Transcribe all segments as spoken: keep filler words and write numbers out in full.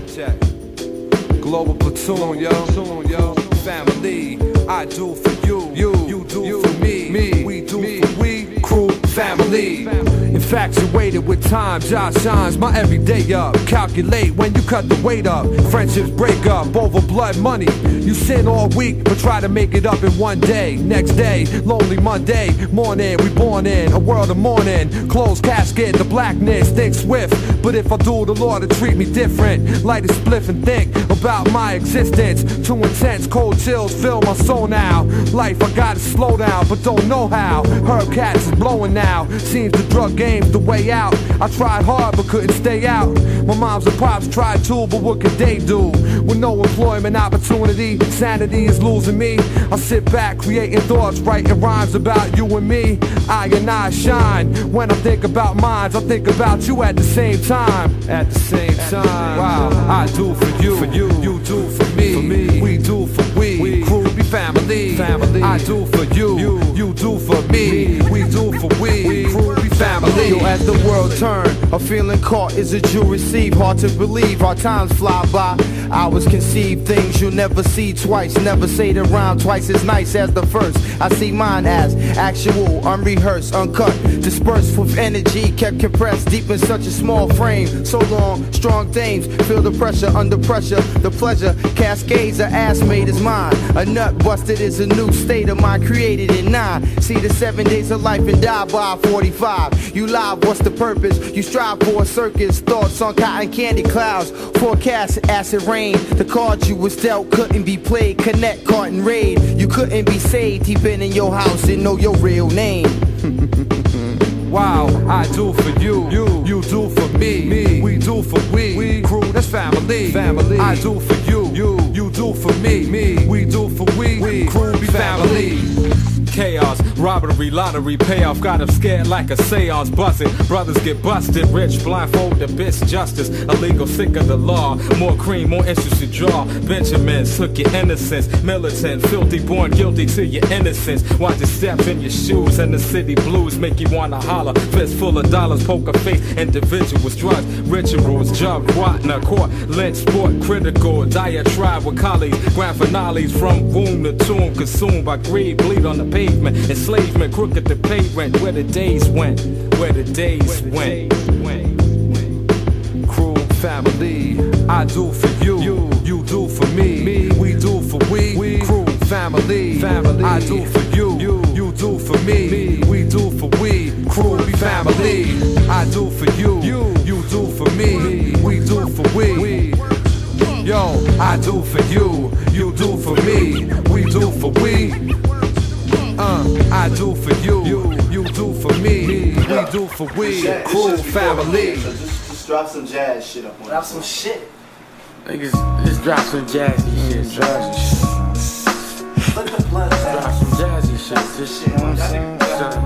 check. Global platoon, yo, platoon, yo. Family, I do for you, you, you do you, for me, me, we do me, for we, crew, family. Infatuated with time, Josh shines my everyday up. Calculate when you cut the weight up. Friendships break up over blood money. You sin all week, but try to make it up in one day. Next day, lonely Monday morning, we born in a world of mourning. Closed casket, the blackness, think swift. But if I do, the Lord will treat me different. Light a spliff and think about my existence. Too intense, cold chills fill my soul now. Life, I gotta slow down, but don't know how. Herb Cats is blowing now. Seems the drug game's the way out. I tried hard, but couldn't stay out. My moms and pops tried too, but what could they do? With no employment opportunity, sanity is losing me. I sit back, creating thoughts, writing rhymes about you and me. I and I shine. When I think about minds, I think about you at the same time. At the same time. Wow, I do for you, for you, you do for me, for me. We do for we, we. Crew be family, family. I do for you, you, you do for me, we do for we, we. Crew be family. Yo, as the world turn, a feeling caught is a Jew receive. Hard to believe, our times fly by. Hours conceive things you'll never see twice. Never say the rhyme twice as nice as the first. I see mine as actual, unrehearsed, uncut, dispersed with energy, kept compressed deep in such a small frame. So long, strong dames feel the pressure under pressure. The pleasure cascades, a ass made is mine. A nut busted is a new state of mind created in nine. See the seven days of life and die by forty-five. You live, what's the purpose? You strive for a circus. Thoughts on cotton candy clouds. Forecast acid rain. The cards you was dealt couldn't be played. Connect, caught and raid. You couldn't be saved. He been in your house and know your real name. Wow, I do for you, you, you do for me, me. We do for we, we. Crew, that's family, family. I do for you, you, you do for me, me. We do for we, we. Crew be family. Chaos, robbery, lottery, payoff. Got 'em scared like a seance. Buzzing, brothers get busted. Rich, blindfolded, bitch, justice. Illegal, sick of the law. More cream, more issues to draw. Benjamins took your innocence. Militant, filthy, born guilty to your innocence. Watch your steps in your shoes, and the city blues make you wanna holler. Fist full of dollars, poker face, individuals, drugs, rituals, jug, rotten, court, lynch, sport, critical, diatribe with colleagues. Grand finales from womb to tomb, consumed by greed, bleed on the page. Enslavement, crooked the pavement. Where the days went, where the days went. Crew, family, I do for you, you, you do for me, me. We do for we, we. Crew, family, family. I do for you, you, you do for me, me. We do for we. Crew, be family. I do for you, you, you do for me, me. We do for we, we. Yo, I do for you, you do for me. We do for we. Uh, I do for you, you, you do for me, we do for we, crew, family. So just, just drop some jazz shit up on Drop some shit. Niggas, just drop some jazzy shit, jazzy shit. Let the blood Drop some jazzy shit, just, you know what I'm saying?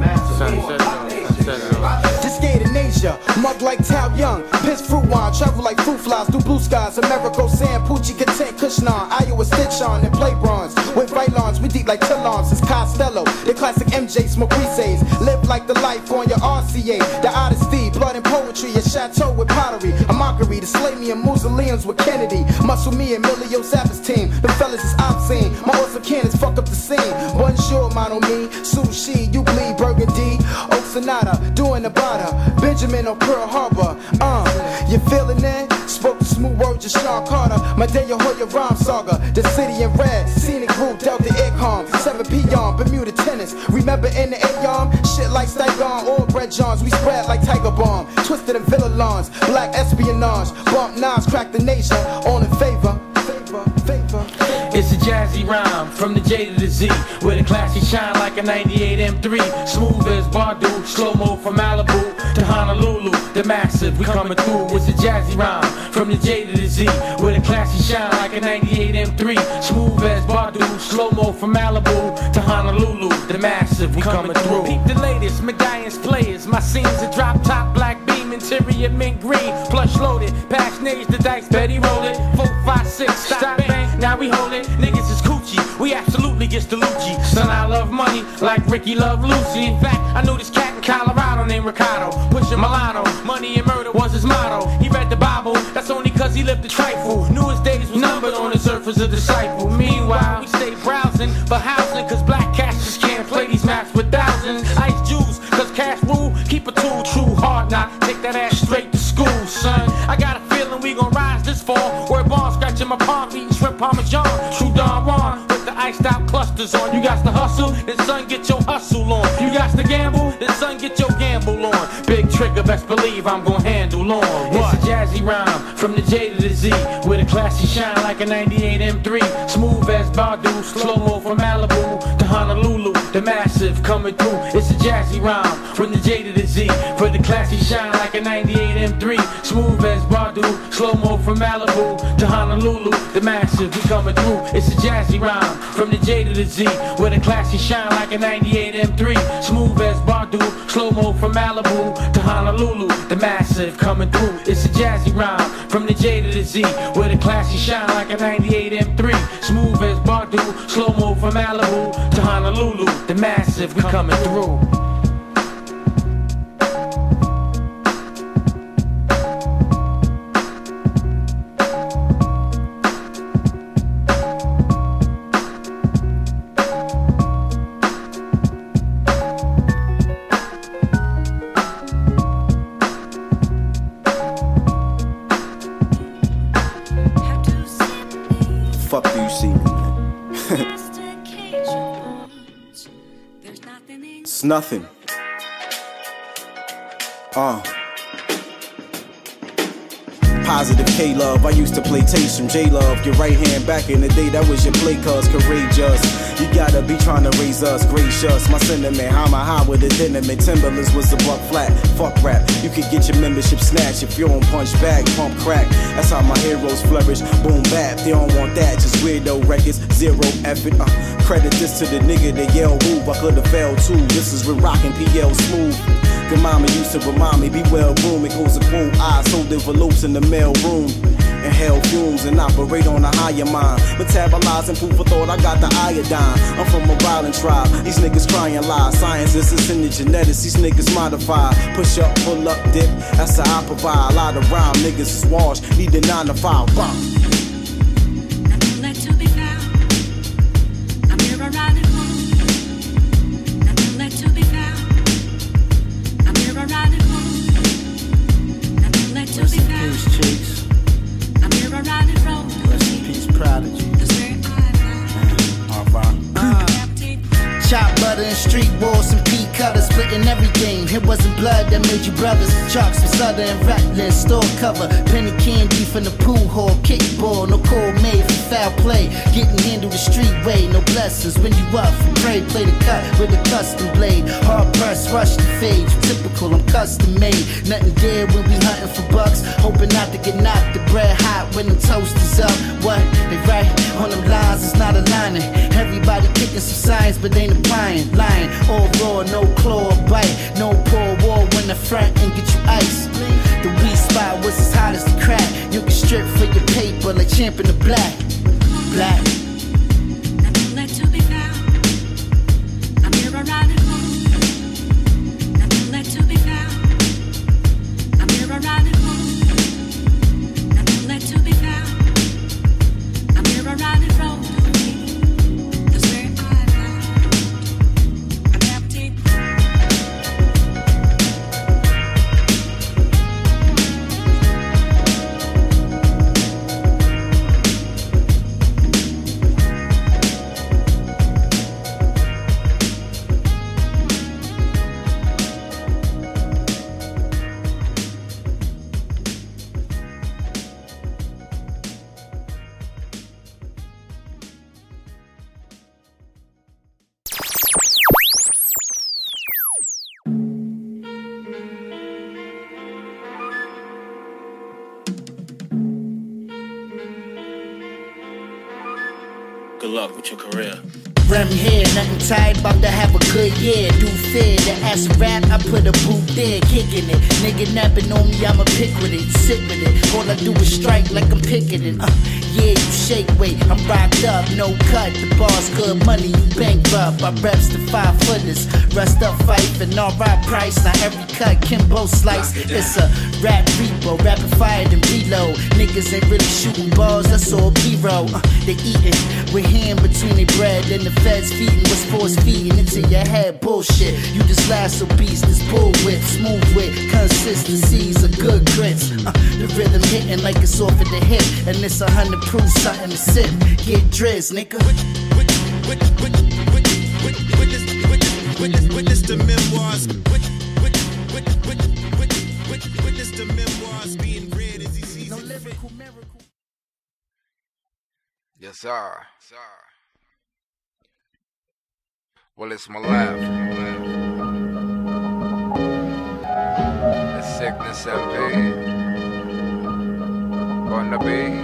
Just skate in Asia, mug like Tao Young, piss fruit wine, travel like fruit flies through blue skies. America, Sam, Poochie, Content, Kushnon, Iowa, Stitch on, and play bronze. With right lawns, we deep like Tillons, it's Costello. The classic M J, smoke Reese's. Live like the life on your R C A. The honesty, blood and poetry, a chateau with pottery. A mockery to slay me in mausoleums with Kennedy. Muscle me and Emilio Zappa's team. The fellas is obscene. My awesome cannons fuck up the scene. Bonjour, mono me. Sushi, you bleed burgundy. Oak Sonata, doing the bada. Benjamin on Pearl Harbor. Uh, you feeling it? Spoke the smooth words of Sean Carter. Medea Hoya rhyme saga. The city in red. Scenic route, Delta Aircom. seven P M, Bermuda tennis. Remember in the A-Yom? Shit like Stygon, all bread Johns. We spread like Tiger Bomb. Twisted in Villa Lawns. Black espionage. Bump knives, crack the nation. All in favor. Favor, favor. It's a jazzy rhyme from the J to the Z, where the classy shine like a ninety-eight M three. Smooth as Bardu, slow-mo from Malibu to Honolulu. The massive, we coming through. It's a jazzy rhyme from the J to the Z, where the classy shine like a ninety-eight M three. Smooth as Bardu, slow-mo from Malibu to Honolulu. The massive, we coming through. Peep the latest, medallions players. My scenes a drop top, black beam, interior mint green. Plush loaded, past nades, the dice, Betty roll it. Four, five, six, stop, bang, now we hold it. Niggas is coochie, we absolutely get the Lucci. Son, I love money like Ricky love Lucy. In fact, I knew this cat in Colorado named Ricardo. Pushing Milano, money and murder was his motto. He read the Bible, that's only cause cause he lived a trifle. Knew his days was numbered on this earth as a disciple. Meanwhile, we stay browsing for housing, cause black cats just can't play these maps with thousands. Ice Jews, cause cash rule, keep a tool, true hard knock. Take that ass straight to school, son. I got a feeling we gon' rise this fall. Where ball scratching my palm, eating shrimp parmesan. True Don Juan, with the iced out clusters on. You got to hustle, then son get your hustle on. You got to gamble, then son get your gamble on. Big trigger, best believe I'm gon' handle on. What? It's a jazzy rhyme, from the J to the Z, with a classy shine like a ninety-eight M three. Smooth as Badu, slow-mo from Malibu to Honolulu, the massive coming through. It's a jazzy rhyme, from the J to the Z, for the classy shine like a ninety-eight M three. Smooth as Badu, slow-mo from Malibu to Honolulu, the massive, we coming through. It's a jazzy rhyme, from the J to the Z, with a classy shine like a ninety-eight M three. Smooth as Badu, slow-mo from Malibu to Honolulu, the massive coming through. It's a jazzy rhyme, from the J to the Z, with a classy shine like a ninety-eight M three. Smooth as Badu, slow-mo from Malibu to Honolulu, the massive, we coming through. Fuck do you see me, man? It's nothing. Uh. Positive K-Love, I used to play Taste from J-Love. Your right hand back in the day, that was your play cuz courageous. You gotta be trying to raise us, gracious. My sentiment, how my high with the dynamite. Timberlands was a buck flat, fuck rap. You could get your membership snatched if you don't punch back, pump crack. That's how my heroes flourish, boom bap. They don't want that, just weirdo records, zero effort. Uh, credit this to the nigga that yell move, I could've failed too. This is with rockin' P L Smooth. Good mama used to remind me, be well groomed. It goes a cool eye, sold envelopes in the mail room. Inhale fumes and operate on a higher mind. Metabolizing food for thought, I got the iodine. I'm from a violent tribe, these niggas crying lies. Science is in the genetics, these niggas modify. Push up, pull up, dip, that's how I provide. A lot of rhyme, niggas is washed, need the nine to five. Bump. Chop butter and street walls and pea cutters, splitting every game. It wasn't blood that made you brothers. Chalks for Sutter and Reckless, store cover, penny candy from the pool hall, kickball, no call made for foul play. Getting handled the street way, no blessings. When you up for prey, play the cut with a custom blade. Hard press, rush the fade, typical, I'm custom made. Nothing dead when we hunting for bucks, hoping not to get knocked. The bread hot when them toasters up. What they write on them lines is not aligning. Everybody kicking some science, but ain't applying. Lying, all raw, no claw or bite. No poor war when the front and get you ice. The weed spot was as hot as the crack. You can strip for your paper like Champ in the Black. Black. Nothing left to be found. I'm here riding home. Nothing left to be found. I'm here riding home. Nothing left to be found. I'm here riding home. Good luck with your career. Rem here, nothing tight, about to have a good year. Do fair, the ass rap, I put a boot there, kicking it. Nigga napping on me, I'ma pick with it, sit with it. All I do is strike like I'm picking it. Uh, yeah, you shake weight. I'm rocked up, no cut. The bar's good money, you bankrupt. I reps the five footers, rest up fight and all right price. Now every cut, Kimbo slice. It's a rap repo, rapid fire and reload. Niggas ain't really shooting balls, that's all B-roll. Uh, they eating with hand between their bread, and the feds feeding what's force feeding into your head. Bullshit, you just lasso beast, this bull whip, smooth with consistencies of good grits. Uh, the rhythm hitting like it's off at the hip, and it's a hundred proof something to sip. Get drizz, nigga. Witness the memoirs. Witness the memoirs being read as he sees no lyrical miracle. Yes, sir. Sir. Well, it's my life. It's sickness and pain. Gonna be,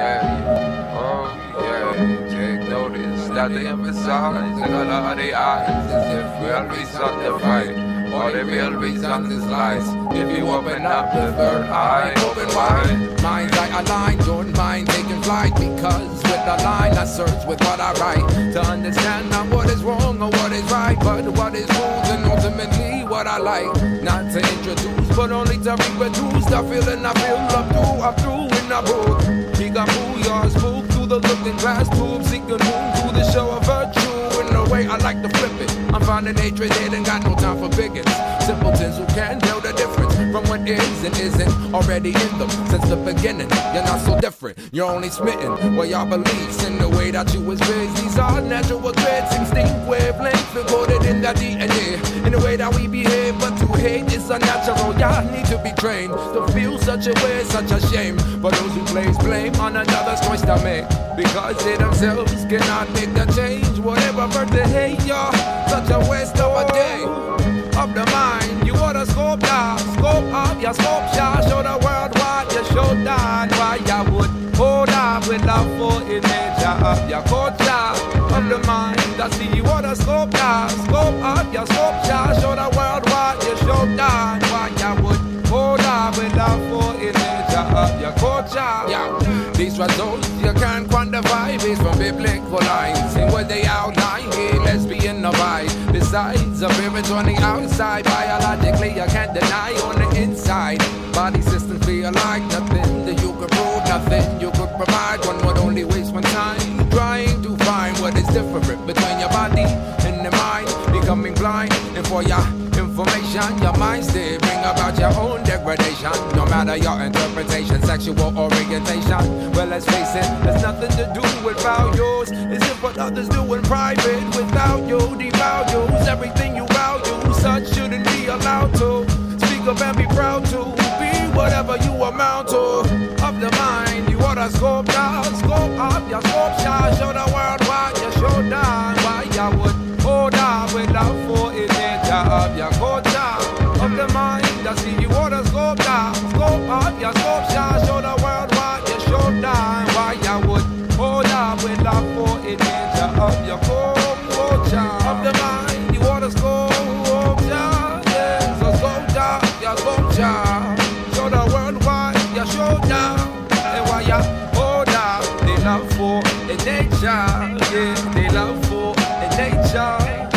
yeah. Oh, yeah. Take notice that they emphasize the color of the eyes as if we'll be sanctified. Or there will be some lies if you open up the third eye, open wide. Minds I align, don't mind taking flight, because with the line I search with what I write to understand not what is wrong or what is right, but what is rules and ultimately what I like. Not to introduce, but only to reproduce the feeling I feel up through, up through in the booth. He got booyah, spook through the looking glass tube, seeking moon through the show of virtue. In the way I like to flip it, I'm finding hatred, they ain't got no time for bigots. Simpletons who can't tell the difference from what is and isn't already in them since the beginning. You're not so different, you're only smitten. Well, y'all beliefs in the way that you was raised. These are natural traits, instinct wavelengths recorded in the D N A. In the way that we behave, but to hate is unnatural. Y'all need to be trained to feel such a way, such a shame. For those who place blame on another's choice to make, because they themselves cannot make the change. Whatever birth they hate, y'all, such a waste of a day. Of the mind, you oughta scope down, scope up your scope shot, show the world what you show down. Why you would hold up with love for in nature of your culture. Of the mind, I see you oughta scope down, scope up your scope shot, show the world what you show down. Why you would hold up with love for in nature of your culture. Yeah. These results you can't quantify based from biblical lines. See what they outline, yeah, lesbian no vibe. Besides, appearance on the outside, biologically you can't deny on the inside. Body systems feel like nothing that you could prove, nothing you could provide. One would only waste one time trying to find what is different between your body and the mind. Becoming blind, and for your information, your mind still bring about your own degradation. No matter your interpretation, sexual orientation. Well, let's face it, there's nothing to do with values. It's if what others do in private without you devalues everything you value. Such shouldn't be allowed to speak up and be proud to be whatever you amount to. Of the mind, you oughta scope down, scope up your scope shot, show the world what you show down. Why you would hold up with love for it nature of your culture. Of the mind, I see you oughta scope down, scope up your scope shot, show the world what you show down. Why you would hold up with love for it nature of your culture. Of the mind, you oughta scope down, yeah. So scope down your scope shot, show the world what you show down. And why you hold up, they love for it nature, yeah. They love for it nature.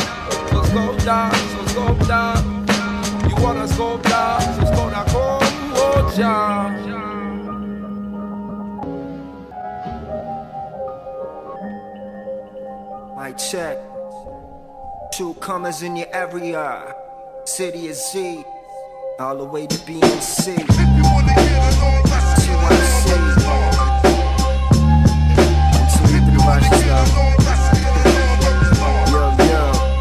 So scope down, so scope down. You wanna scope down, so scope down, culture. Mic check. True comers in your area. City is Z. All the way to B M C. If you wanna get it on, that's what I see. Until you can watch this love. Yo, yo.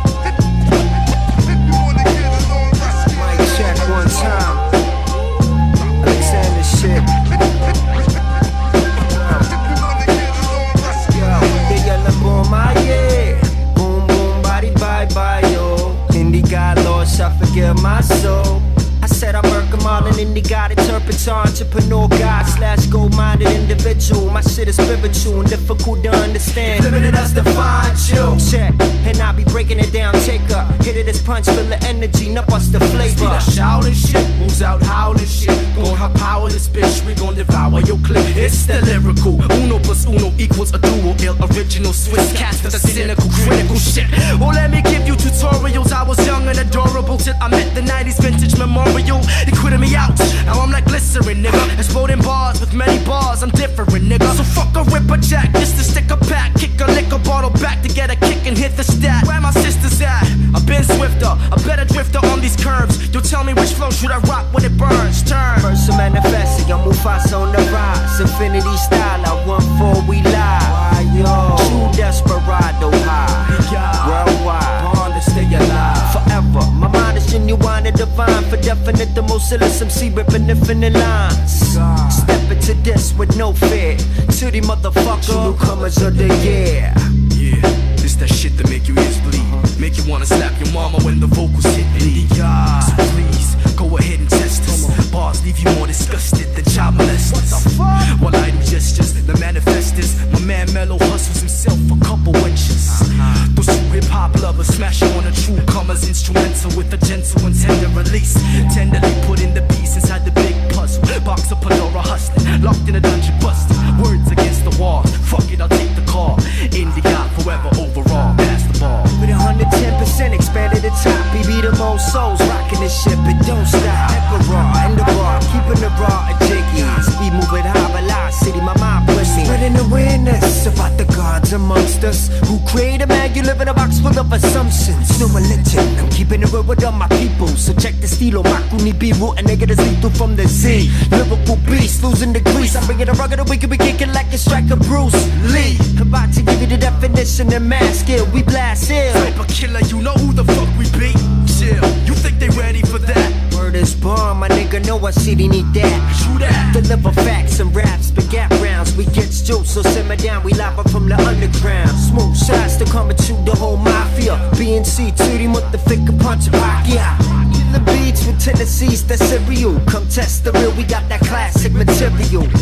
Mic check one time. Alexander shit. Yo, they yelling boom, my yeah. Boom, boom, body, bye, bye, yo. Indie got lost, I forget my soul. I said I murk them all, and then they got it turpentine. Entrepreneur guy slash gold-minded individual. My shit is spiritual and difficult to understand. Limited us to find you. Check, and I be breaking it down. Take up, hit hit of this punch, feel the energy, not bust the flavor. That shouting shit, moves out howling shit. Gon' have power this bitch, we gon' devour your clip. It's the lyrical, uno plus uno equals a duo. Ill original Swiss cats with the cynical, critical shit. Well, let me give you tutorials. I was young and adorable till I met the nineties vintage memorial. They quitted me out, now I'm like glycerin, nigga. Exploding bars with many bars, I'm different, nigga. So fuck a ripper jack, just to stick a pack. Kick a liquor bottle back to get a kick and hit the stat. Where my sisters at? I've been swifter, a better drifter on these curves. You tell me which flow should I rock when it burns. Turn. First to manifest, young Mufasa on the rise. Infinity style, I one four, we live. Yo, true desperado high. Worldwide, born to stay alive. Forever, my mind is genuine and divine. For definite, the most illest M C ripping infinite lines. Step into this with no fear. To the motherfucker, newcomers of the year. Yeah, this that shit that make you ears bleed. Make you wanna slap your mama when the vocals hit me. So please, go ahead and test us. Bars leave you more disgusted than child molesters. While I do gestures, the manifestors. My man Mello hustles himself a couple inches. Those two hip-hop lovers smash on a true commas instrumental with a gentle and tender release. Tenderly put in the piece inside the big puzzle. Box of Pandora hustling, locked in a dungeon busting. Words against the wall, fuck it, I'll take the call. Indie God forever overall, pass the ball. With one hundred ten percent expanded the top, we be the most souls rocking this shit, but don't stop. Emperor in the bar, keeping the raw and jiggy. We moving high, velocity, my mind with me. Spreading awareness about the gods amongst us who create a man. You live in a box full of assumptions. No religion, I'm keeping it real with all my people. So check the stilo, Makuni Biru, and niggas lethal from the Z. Liverpool beast, losing the grease. I'm bringing a rugged, we can be kicking like a striker Bruce Lee. About to give you the definition and mask it. We blast ill. Type of killer, you know who the fuck we be? Chill, you think they ready for that? Word is born, my nigga know I city need that. True that. Deliver facts and raps, but gap rounds. We get jokes, so simmer down. We live up from the underground. Smooth shots to come to the whole mafia. B N C, Tootie, motherfucker, punch a pack, yeah. The beats with Tennessee's that cereal. Come test the real, we got that classic material. Word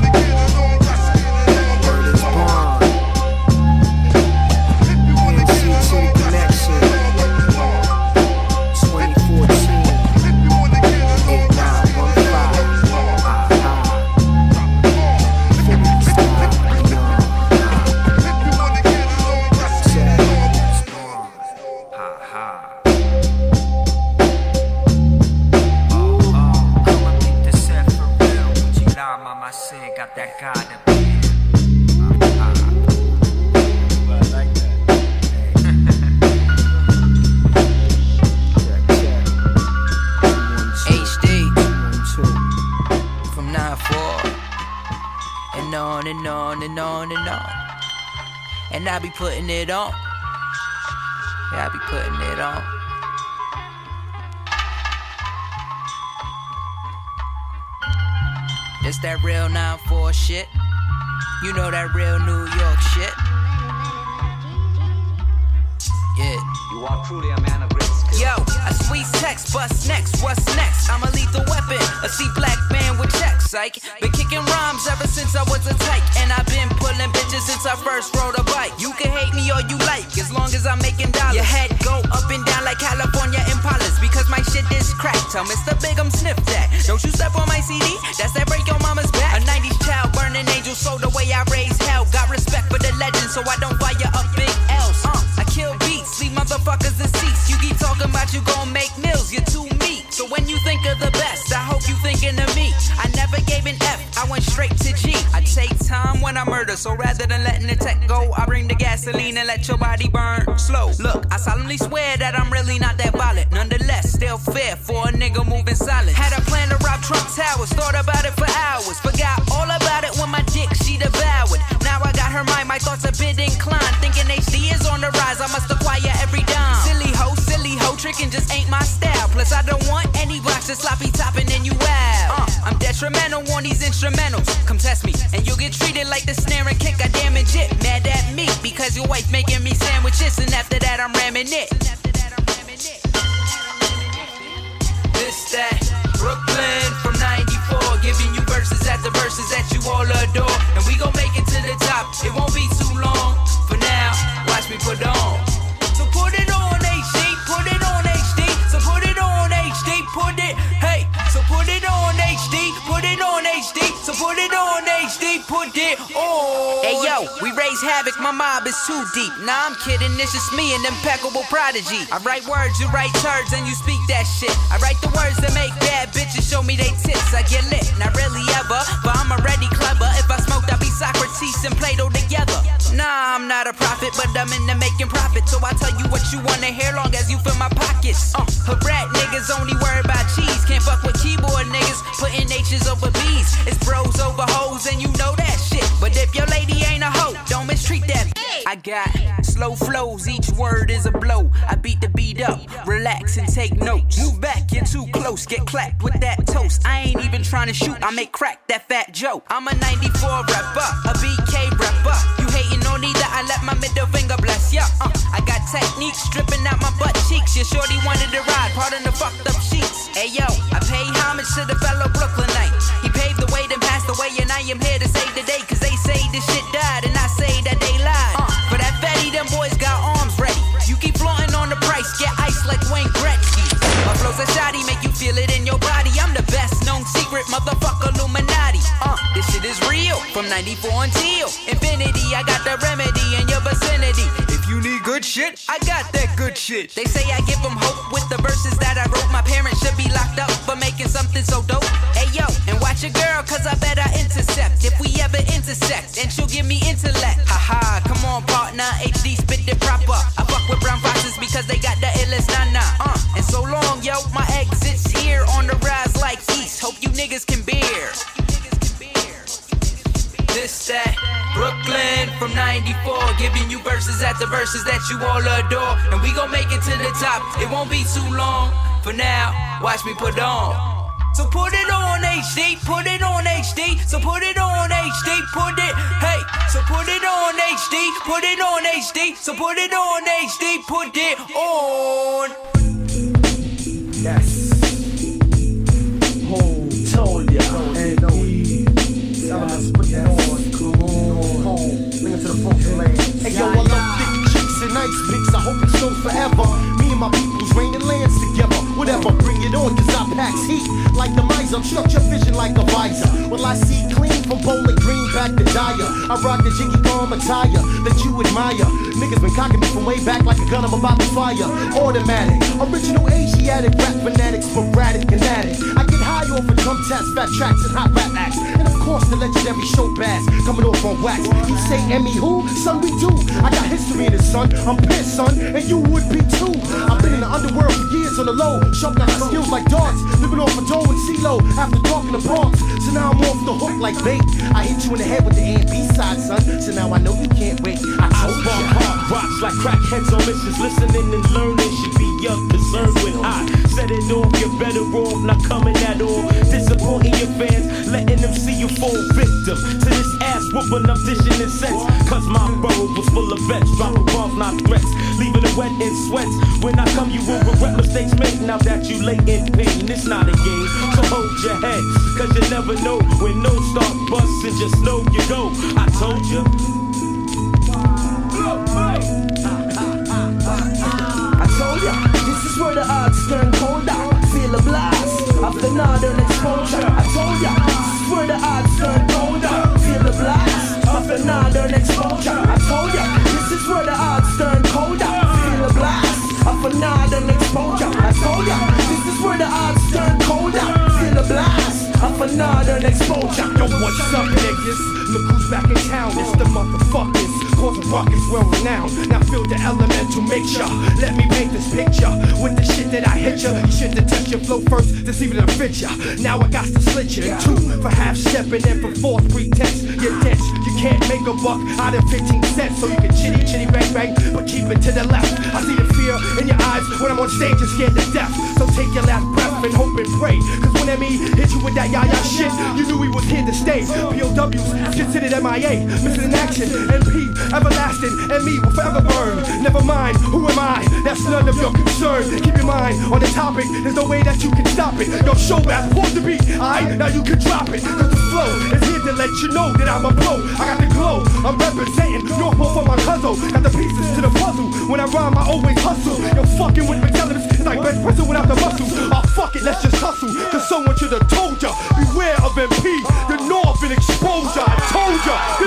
is born. B N C to the connection. twenty fourteen. eight nine one five. I said, got that God to H D from nine four and on and on and on and on. And I be putting it on. Yeah, I be putting it on. It's that real nine four shit. You know that real New York shit. Yeah. You are truly a man of great skill. Yo, a sweet text, bust next, what's next? I'm a lethal weapon, a C black man with checks, psych. Been kicking rhymes ever since I was a tyke. And I've been pulling bitches since I first rode a bike. You can hate me all you like, as long as I'm making dollars. Your head go up and down like California Impalas, because my shit is crack. Tell Mister Big I'm sniff that. Don't you step on my C D, that's that break your mama's back. A nineties child, burning angel, so the way I raise hell. Got respect for the legend, so I don't fire up big L's. Uh, I kill beats, leave motherfuckers deceased. You keep talking about you gon' make mills, you're too meat. So when you think of the best, I hope you thinking of me. I never gave an F, I went straight to G. I take time when I murder, so rather than letting the tech go, I bring the gasoline and let your body burn slow. Look, I solemnly swear that I'm really not that violent. Nonetheless, still fair for a nigga moving silent. Had a plan to rob Trump Towers, thought about it for hours. Forgot all about it when my dick she devoured. Now I got her mind, my thoughts a bit inclined. Thinking H D is on the rise, I must acquire every dime. Silly hoe, silly hoe, tricking just ain't my style. Plus I don't want any blocks of sloppy topping and you wow. Uh, I'm detrimental on these instrumentals. Come test me, and you'll get treated like the snare and kick. I damage it, mad at me because your wife making me sandwiches, and after that I'm ramming it. This that Brooklyn from ninety-four, giving you verses after verses that you all adore, and we gon' make it to the top. It won't be too long. For now, watch me put on. So put it on, H D, put it on. it on. Hey yo, we raise havoc, my mob is too deep. Nah, I'm kidding, it's just me and impeccable prodigy. I write words, you write turds, and you speak that shit. I write the words that make bad bitches show me they tits. I get lit, not really ever, but I'm already clever. If I smoked, I'd be Socrates and Plato together. Nah, I'm not a prophet, but I'm into making profit. So I tell you what you wanna hear, long as you fill my pockets. Uh, her rat niggas only worry about cheese. Can't fuck with keyboard niggas, putting H's over B's. It's bros over hoes, and you know that shit. But if your lady ain't a hoe, don't mistreat that. I got slow flows, each word is a blow. I beat the beat up, relax and take notes. Move back, you're too close, get clapped with that toast. I ain't even trying to shoot, I make crack that fat joke. I'm a ninety-four rapper, a B K rapper. You hating on either, I let my middle finger bless ya. Uh, I got techniques stripping out my butt cheeks. Your shorty wanted to ride, pardon the fucked up sheets. Hey yo, I pay homage to the fellow Brooklynite. He paved the way, then passed away, and I am here to save the day. Cause they say this shit died, and I say that they lied. Uh, for that fatty, them boys got arms ready. You keep flaunting on the price, get ice like Wayne Gretzky. My flow's a shotty, make you feel it in your body. I'm the best known secret, motherfucker Illuminati. Uh, this shit is real, from ninety-four until infinity. I got the remedy in your vicinity. If you need good shit, I got that good shit. They say I give them hope with the verses that I wrote. My parents should be locked up for making something so dope. Hey yo, and watch your girl, cause I bet I intercept. If we ever intersect, and she'll give me intellect. Haha, come on partner, H D spit it proper. I fuck with brown foxes because they got the illest nana. Uh, and so long, yo, my exit's here on the rise like east. Hope you niggas can bear. This, that, Brooklyn from ninety-four, giving you verses after verses that you all adore. And we gon' make it to the top, it won't be too long. For now, watch me put on. So put it on H D, put it on H D. So put it on H D, put it, hey. So put it on H D, put it on H D. So put it on H D, put it on. Yes. Home, told ya. And no, Solomon's put that on. Come on, home. Bring it to the folks lane. Hey yo, I love thick chicks and nice pics. I hope it shows forever. Me and my people's raining lands together. Whatever, bring it on, cause I packs heat like the miser. Structure vision like a visor. Well, I see clean from Bowling Green back to Dyer. I rock the Jiggy Bomb attire that you admire. Niggas been cocking me from way back like a gun I'm about to fire. Automatic, original Asiatic rap fanatic, sporadic and addict. I get high off of drum taps, fat tracks, and hot rap acts. And of course, the legendary show bass coming off on wax. You say, Emmy, who? Son, we do. I got history in this, son. I'm pissed, son, and you would be too. I've been in the underworld for years on the low, sharpening my skills like darts, living off a dough and CeeLo after talking to Bronx. So now I'm off the hook like bait. I hit you in the head with the A and B side, son. So now I know you can't wait. I told you. Hard rocks like crackheads on missions, listening and learning should be your concern. When I set it off, you're better off not coming at all. Disappointing your fans, letting them see you fall victim to this ass whooping I'm dishing in sense. Cause my road was full of vets, dropping bombs, not threats, leaving it wet in sweats. When I come, you will regret mistakes made. Now that you lay in pain, it's not a game, so hold your head, cause you never know when no start busting. Just know you go. I told you. I told ya, this is where the odds turn colder. Feel a blast after northern exposure. I told ya, this is where the odds turn colder. Feel the blast after northern exposure. I told ya, this is where the odds turn colder. Feel the blast after northern exposure. I told ya, this is where the odds turn colder. Feel the blast after northern exposure. Yo, what's up, niggas? Look who's back in town. It's the motherfuckers. Causing rockets well renowned. Now feel the elemental mixture. Let me paint this picture with the shit that I hit ya. You should detect your flow first to see if it'll fit ya. Now I got to slit you in two for half stepping and for false pretense. You're dense. You can't make a buck out of fifteen cents. So you can chitty chitty bang bang, but keep it to the left. I see the fear in your eyes when I'm on stage and scared to death. So take your last breath and hope and pray. Cause when M E hit you with that yah-yah shit, you knew he was here to stay. P O Ws considered M I A, missing in action. M P everlasting, and me will forever burn. Never mind, who am I? That's none of your concern. Keep your mind on the topic, there's no way that you can stop it. Your show rap pause the beat, alright? Now you can drop it. Cause the flow is here to let you know that I'm a pro. I got the glow, I'm representing Norfolk for my cousin. Got the pieces to the puzzle. When I rhyme, I always hustle. You're fucking with McTellus, it's like bench pressing without the muscle. Oh fuck it, let's just hustle. Cause someone should have told ya, beware of M P. The North and exposure. I told ya.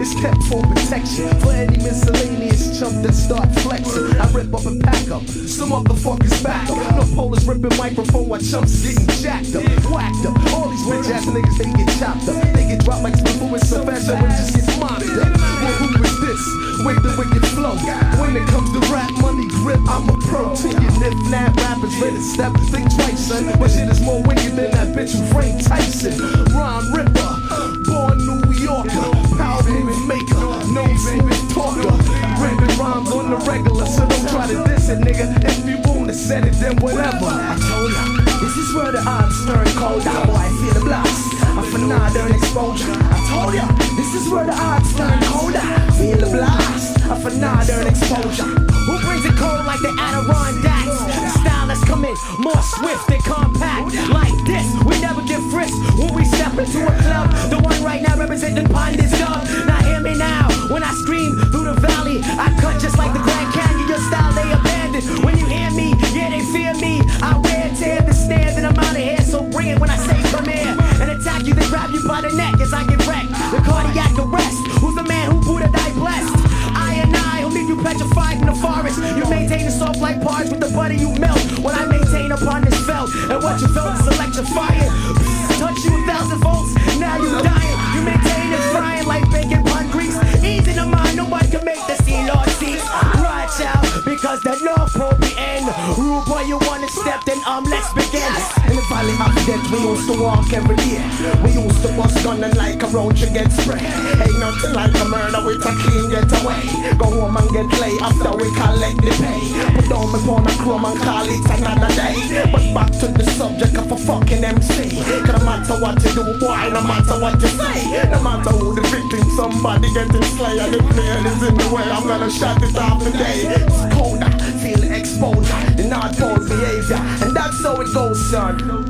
It's kept for protection. For any miscellaneous chump that start flexing, I rip up and pack up. Some motherfuckers back up. No polars ripping microphone while chumps getting jacked up, whacked up. All these bitch ass niggas, they get chopped up. They get dropped like spittle with so fast that it just gets mopped up. Well, who is this? With the wicked flow. When it comes to rap, money grip, I'm a pro. To your nip, nap rappers, ready to step, think twice, son. But shit is more wicked than that bitch who framed Tyson. Ron Ripper, born New Yorker, power movie maker, no smooth talker. Ripping rhymes on the regular, so don't try to diss it, nigga. If you wanna set it, then whatever. I told ya, this is where the odds turn cold. That boy, I feel the blast. I'm for northern exposure. I told ya, this is where the odds turn colder. Feel the blast. I'm for northern exposure. Who brings it cold like the Adirondacks? The style that's coming more swift and compact. Like this, we never get frisked when we step into a club. The one right now representing Pond's Dub. Now hear me now, when I scream through the valley, I cut just like the Grand Canyon. Your style they abandoned. When you hear me, yeah they fear me. I wear to understand that I'm out of here, so bring it when I say come here. And attack you, they grab you by the neck as I get wrecked. The cardiac arrest, who's the man who Buddha died blessed? I and I, who leave you petrified in the forest. You maintain a soft like parts with the butter you melt. When I maintain upon this felt, and what you felt is electrifying. Touch you a thousand volts, now you dying. You maintain it frying like bacon pun grease. Easy to mind, nobody can make the sea Lord cease. Right, child, because the North Pole be end. Rude boy, you wanna step, then um, let's begin. In the valley of death, we used to walk every day. We used to bust gun and like a roach you get spread. Ain't nothing like a murder with a clean getaway. Go home and get play after we collect the pay. Put down my phone and chrome and call it another day. But back to the subject of a fucking M C. Cause no matter what you do, boy, no matter what you say, no matter who the victim, somebody getting slayed. And if man is in the way, I'm gonna shut it off today. It's colder, feel the exposure, the North Pole behavior, and that's how it goes, son.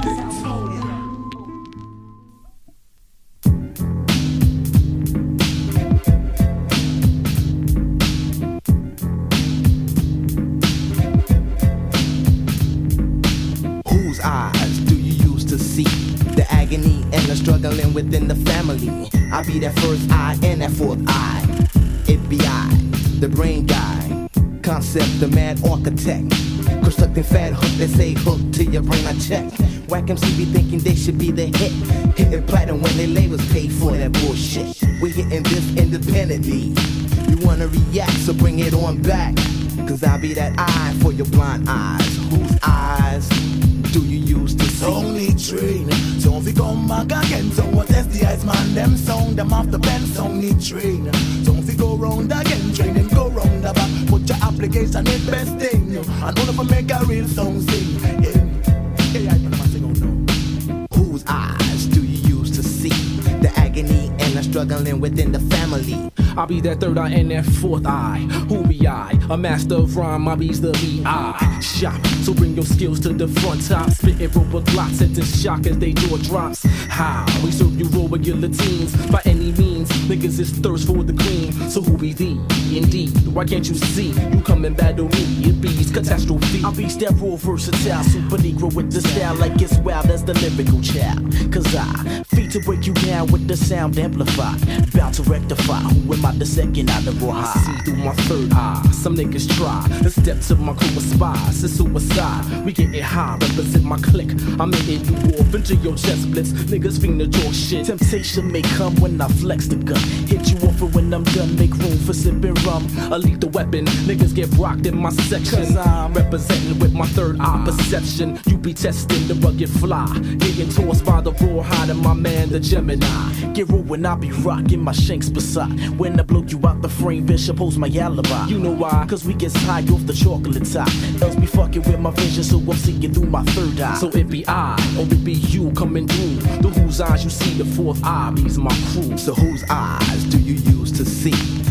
Whose eyes do you use to see the agony and the struggling within the family? I be that first eye and that fourth eye. It be I, the brain guy, concept, the mad architect, constructing fat hook that say hook to your brain. I check. Whack M C be thinking they should be the hit, hitting platinum when they labels paid for that bullshit. We hitting this independently. You wanna react, so bring it on back. Cause I be that eye for your blind eyes. Whose eyes do you use to see? Only train, so if you come back again, so what if the ice man them sound them off the bench? Only train, so if you go round again, train and go round the back. Put your application in best thing, and all of them make a real song sing. Yeah, yeah, I sing on no. Whose eyes do you use to see the agony and the struggling within the family? I'll be that third eye and that fourth eye. Who be I? A master of rhyme, I be's the B I Shop, so bring your skills to the front top. Spitting robot blocks, sentence shock as they jaw drops. How? We serve you raw with guillotines. By any means, niggas is thirst for the cream. So who be thee? Indeed, why can't you see? You come and battle me, it be's catastrophe. I'll be that raw versatile, super negro with the style like it's wild as the lyrical child. Cause I, feet to break you down with the sound amplified. Bound to rectify, who am I the second out of raw high? See through my third eye, some niggas try to step to my crew of spies. It's suicide, we getting high, represent my clique. I'm hitting you off into your chest blitz. Niggas fiend to talk shit. Temptation may come when I flex the gun. Hit you off and when I'm done, make room for sipping rum. A lethal weapon, niggas get rocked in my section. Cause I'm representing with my third eye perception. You be testing the rugged fly, getting tossed by the raw hide of my man, the Gemini. Get raw when I be rocking my shanks beside. When I blow you out the frame, Bishop holds my alibi. You know why? Cause we get high off the chocolate top. Else be fucking with my vision, so I'm seeing through my third eye. So it be I, or it be you coming through. The whose eyes you see, the fourth eye be's my crew. So whose eyes do you use to see the agony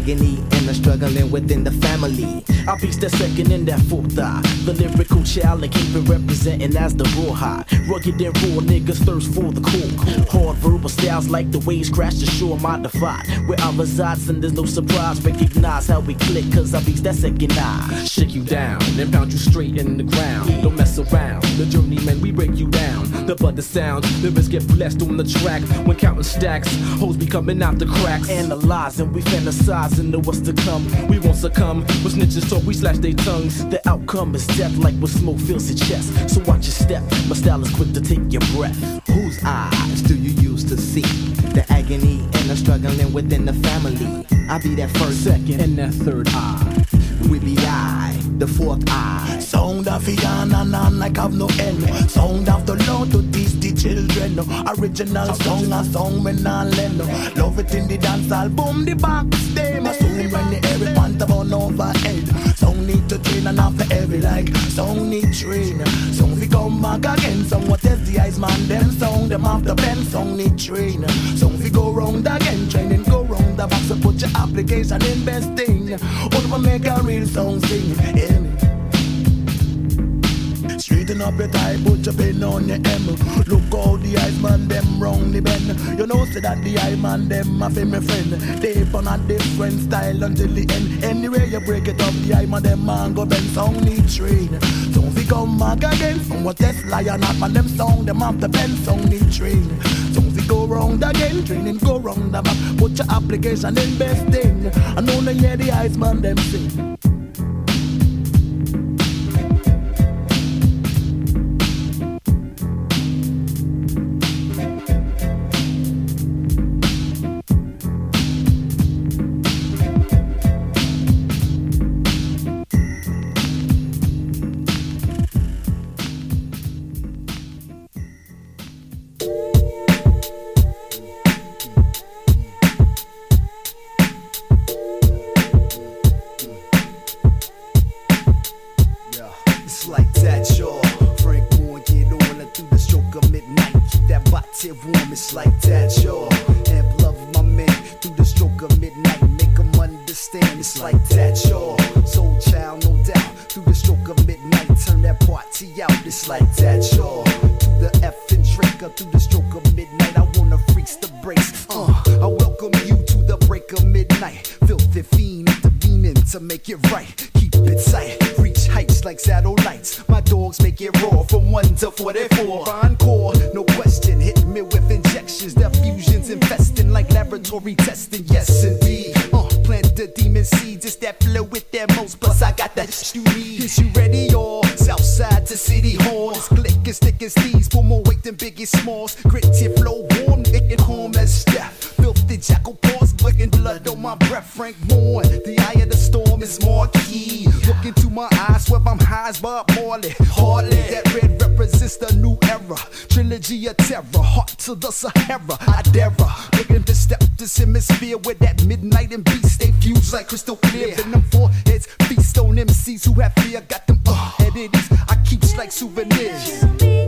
agony and the struggling within the family. I beats that second and that fourth eye. The lyrical child and keep it representing as the raw high. Rugged and raw niggas thirst for the cool. Hard verbal styles like the waves crash the shore my divide. Where I reside and there's no surprise. Recognize how we click cause I beats that second eye. Shake you down and pound you straight in the ground. Don't mess around. The journeyman we break you down. The butter sounds, lyrics get blessed on the track. When counting stacks, hoes be coming out the cracks. Analyzing, we fantasizing of what's to come. We won't succumb. With snitches talk, we slash their tongues. The outcome is death like when smoke fills your chest. So watch your step, my style is quick to take your breath. Whose eyes do you use to see the agony and the struggling within the family? I be that first, second, and that third eye. We be I, the fourth eye. Sound of Fiana and like have no end. Sound of the Lord to teach the children. Original song, a song when I lend. Love it in the dance album, the box them. A song when the every pant on overhead. Song need to train and not for every like. Song need train. Song we come back again. Song what test the ice man them. Song them off the pen. Song need train. Song we go round again. Training go round the box. So put your application in best thing. Or make a real song sing. Hear me? Straighten up your tie, put your pen on your M. Look how the eyes man them wrongly bend. You know say that the eye man them a fi me friend. They on a different style until the end. Anyway you break it up, the eye man them man go bend. Song need train. Don't we come back again. Song what test lion not man them song them have the pen. Song need train. Don't we go round again. Training go round the back. Put your application in best thing. I know no hear the eyes man them sing. The Sahara, I dare looking to step this hemisphere where that midnight and beast they fuse like crystal clear. And them foreheads feast on M Cs who have fear. Got them uh headed I keeps like souvenirs.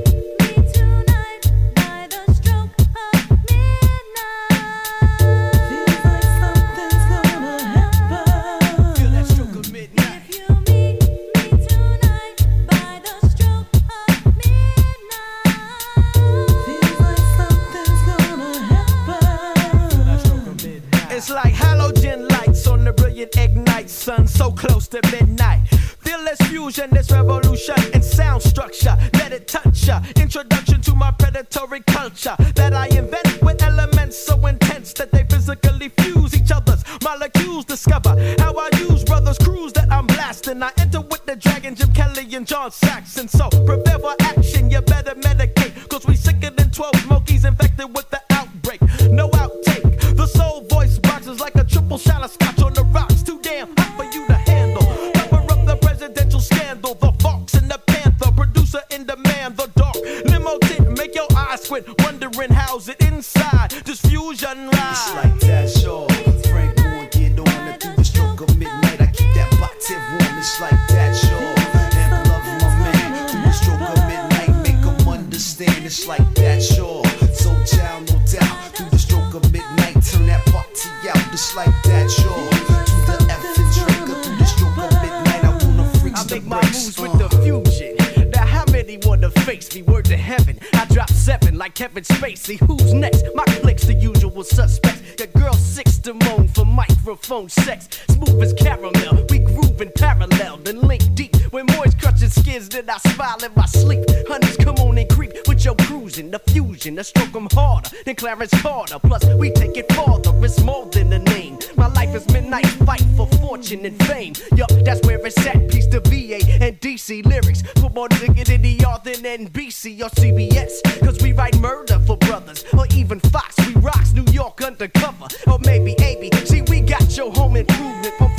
It's like halogen lights on the brilliant ignite sun so close to midnight. Feel this fusion, this revolution in sound structure. Let it touch ya. Introduction to my predatory culture that I invent with elements so intense that they physically fuse each other's molecules. Discover how I use brothers' crews that I'm blasting. I enter with the Dragon, Jim Kelly and John Saxon. So prepare for action, you better medicate. Cause we sicker than twelve monkeys infected with the outbreak. No outtake. The soul voice boxes like a triple shot of scotch on the rocks. Too damn hot for you to handle. Cover up the presidential scandal. The Fox and the Panther. Producer in demand. The dark limo tint. Make your eyes squint. Wondering how's it inside. Just fusion ride. It's like that, sure. Frank Moore get on it through the stroke of midnight. I keep that body warm. It's like that, sure. And love my man through the stroke of midnight. Make them understand. face me, word to heaven. I drop seven like Kevin Spacey. Who's next? My clique's the usual suspects. Your girl six to moan for microphone sex. Smooth as caramel, we groove in parallel, then link deep. When moist crushing skins, then I smile in my sleep. Honeys, come on and creep with your cruising. The fusion, the stroke 'em harder than Clarence Carter. Plus, we take it farther, it's more than a name. My life is midnight fight for fortune and fame. Yup, that's where it's at. Piece to V A and D C lyrics. Put more nigga in the R than N B C or C B S. Cause we write murder for brothers, or even Fox. We rocks New York undercover, or maybe A B. See, we got your home improvement from